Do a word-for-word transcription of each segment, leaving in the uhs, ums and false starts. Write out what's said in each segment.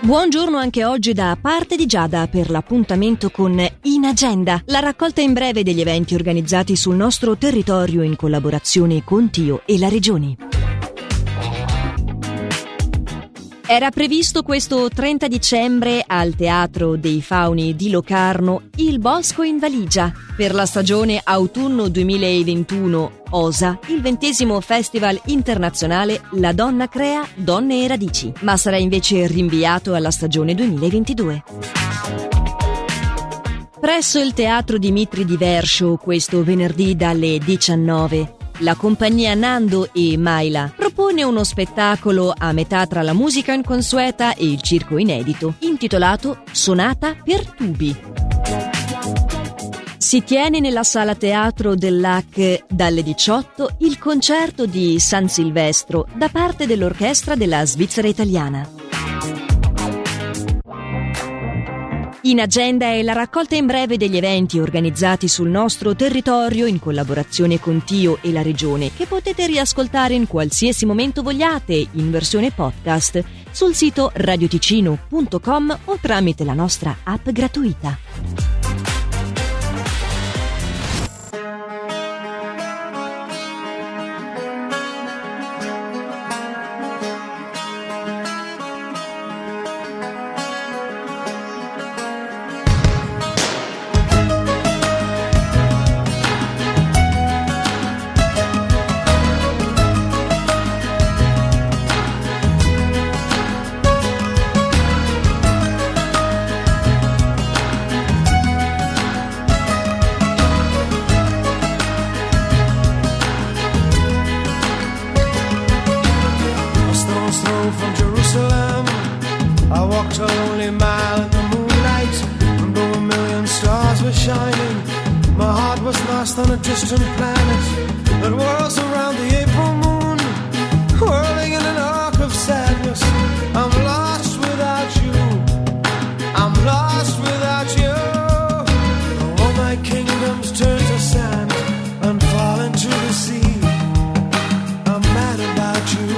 Buongiorno anche oggi da parte di Giada per l'appuntamento con In Agenda, la raccolta in breve degli eventi organizzati sul nostro territorio in collaborazione con Tio e la Regione. Era previsto questo trenta dicembre al Teatro dei Fauni di Locarno Il Bosco in Valigia per la stagione autunno duemilaventuno O S A, il ventesimo Festival internazionale La Donna Crea Donne e Radici, ma sarà invece rinviato alla stagione duemilaventidue. Presso il Teatro Dimitri di Verscio questo venerdì dalle diciannove la compagnia Nando e Maila propone uno spettacolo a metà tra la musica inconsueta e il circo inedito, intitolato Sonata per tubi. Si tiene nella sala teatro dell'A C dalle diciotto il concerto di San Silvestro da parte dell'orchestra della Svizzera Italiana. In Agenda è la raccolta in breve degli eventi organizzati sul nostro territorio in collaborazione con Tio e la Regione, che potete riascoltare in qualsiasi momento vogliate in versione podcast sul sito radioticino punto com o tramite la nostra app gratuita. From Jerusalem, I walked a lonely mile in the moonlight, and though a million stars were shining, my heart was lost on a distant planet that whirls around the April moon, whirling in an arc of sadness. I'm lost without you, I'm lost without you. All my kingdoms turn to sand and fall into the sea. I'm mad about you,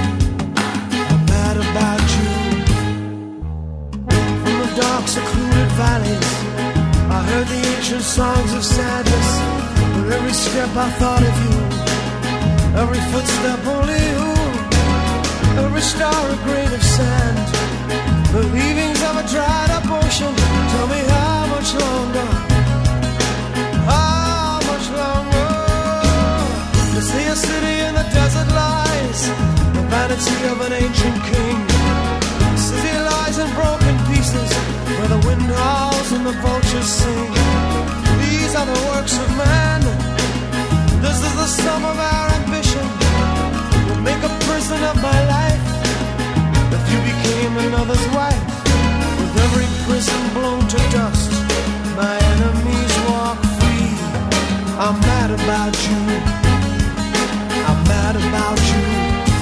about you. From the dark secluded valleys I heard the ancient songs of sadness. With every step I thought of you, every footstep only you, every star a grain of sand, the leavings of a dried up ocean. Tell me how much longer, how much longer? To see a city in the desert lies, the vanity of an ancient king. The city lies in broken pieces, where the wind howls and the vultures sing. These are the works of man, this is the sum of our ambition. You'll make a prison of my life if you became another's wife. With every prison blown to dust, my enemies walk free. I'm mad about you, I'm mad about you.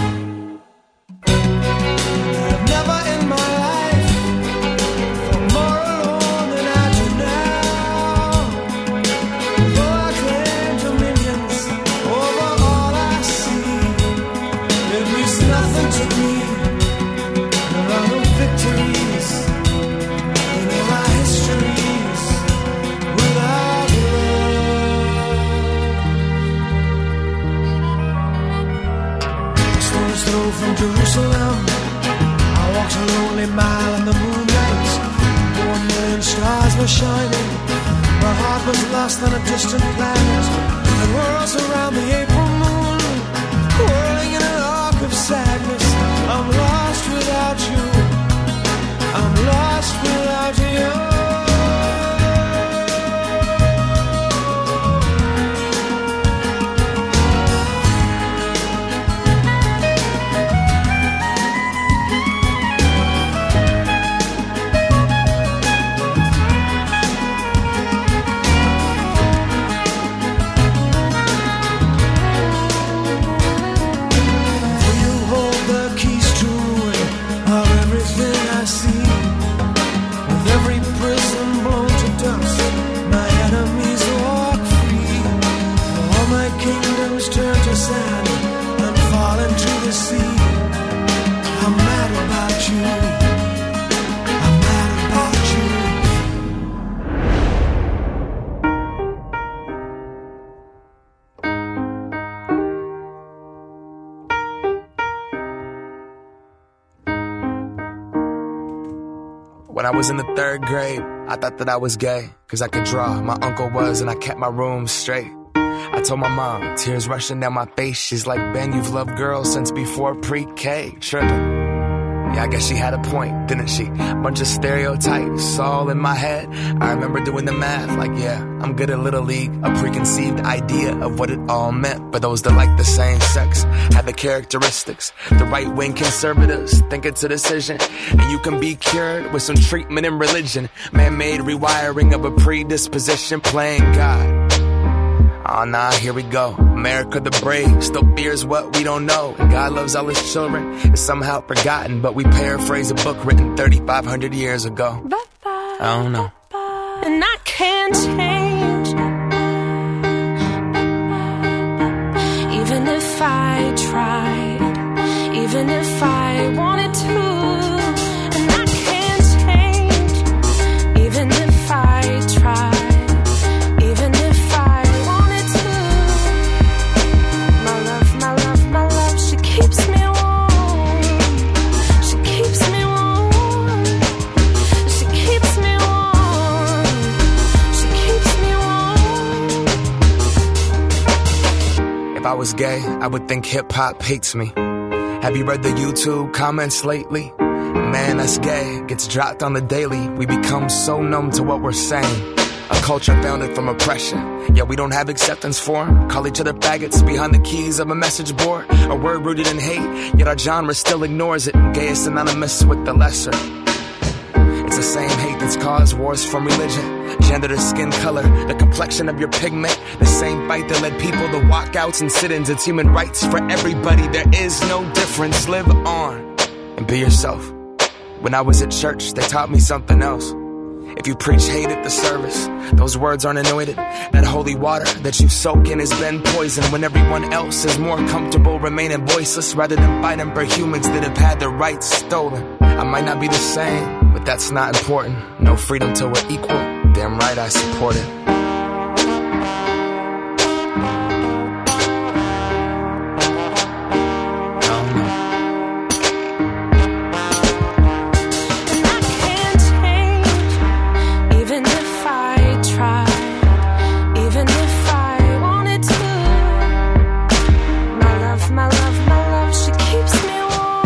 I've never in my life felt more alone than I do now. Though I claim dominions over all I see, it means nothing to me. There are no victories in all our histories without love. Through from Jerusalem, I walked a lonely mile in the moonlight. Though a million stars were shining, my heart was lost on a distant planet that whirls around the April moon, whirling in an arc of sadness. I'm lost without you, I'm lost without you. When I was in the third grade, I thought that I was gay, cause I could draw. My uncle was, and I kept my room straight. I told my mom, tears rushing down my face. She's like, Ben, you've loved girls since before pre-K. Tripping. Yeah, I guess she had a point, didn't she? Bunch of stereotypes all in my head. I remember doing the math, like, yeah, I'm good at Little League. A preconceived idea of what it all meant. But those that like the same sex have the characteristics. The right-wing conservatives think it's a decision, and you can be cured with some treatment and religion. Man-made rewiring of a predisposition, playing God. Oh nah, here we go. America the brave still fears what we don't know. And God loves all his children. It's somehow forgotten, but we paraphrase a book written thirty-five hundred years ago. I don't know. And I can't change, even if I tried, even if I wanted to. And I can't change, even if I tried. If I was gay, I would think hip-hop hates me. Have you read the YouTube comments lately? Man, that's gay gets dropped on the daily. We become so numb to what we're saying. A culture founded from oppression. Yeah, we don't have acceptance for 'em. Call each other faggots behind the keys of a message board. A word rooted in hate, yet our genre still ignores it. Gay is synonymous with the lesser. It's the same hate that's caused wars from religion, gender to skin color, the complexion of your pigment. The same fight that led people to walkouts and sit-ins. It's human rights for everybody. There is no difference. Live on and be yourself. When I was at church, they taught me something else. If you preach hate at the service, those words aren't anointed. That holy water that you soak in has been poisoned when everyone else is more comfortable remaining voiceless rather than fighting for humans that have had their rights stolen. I might not be the same, but that's not important. No freedom till we're equal. Damn right I support it.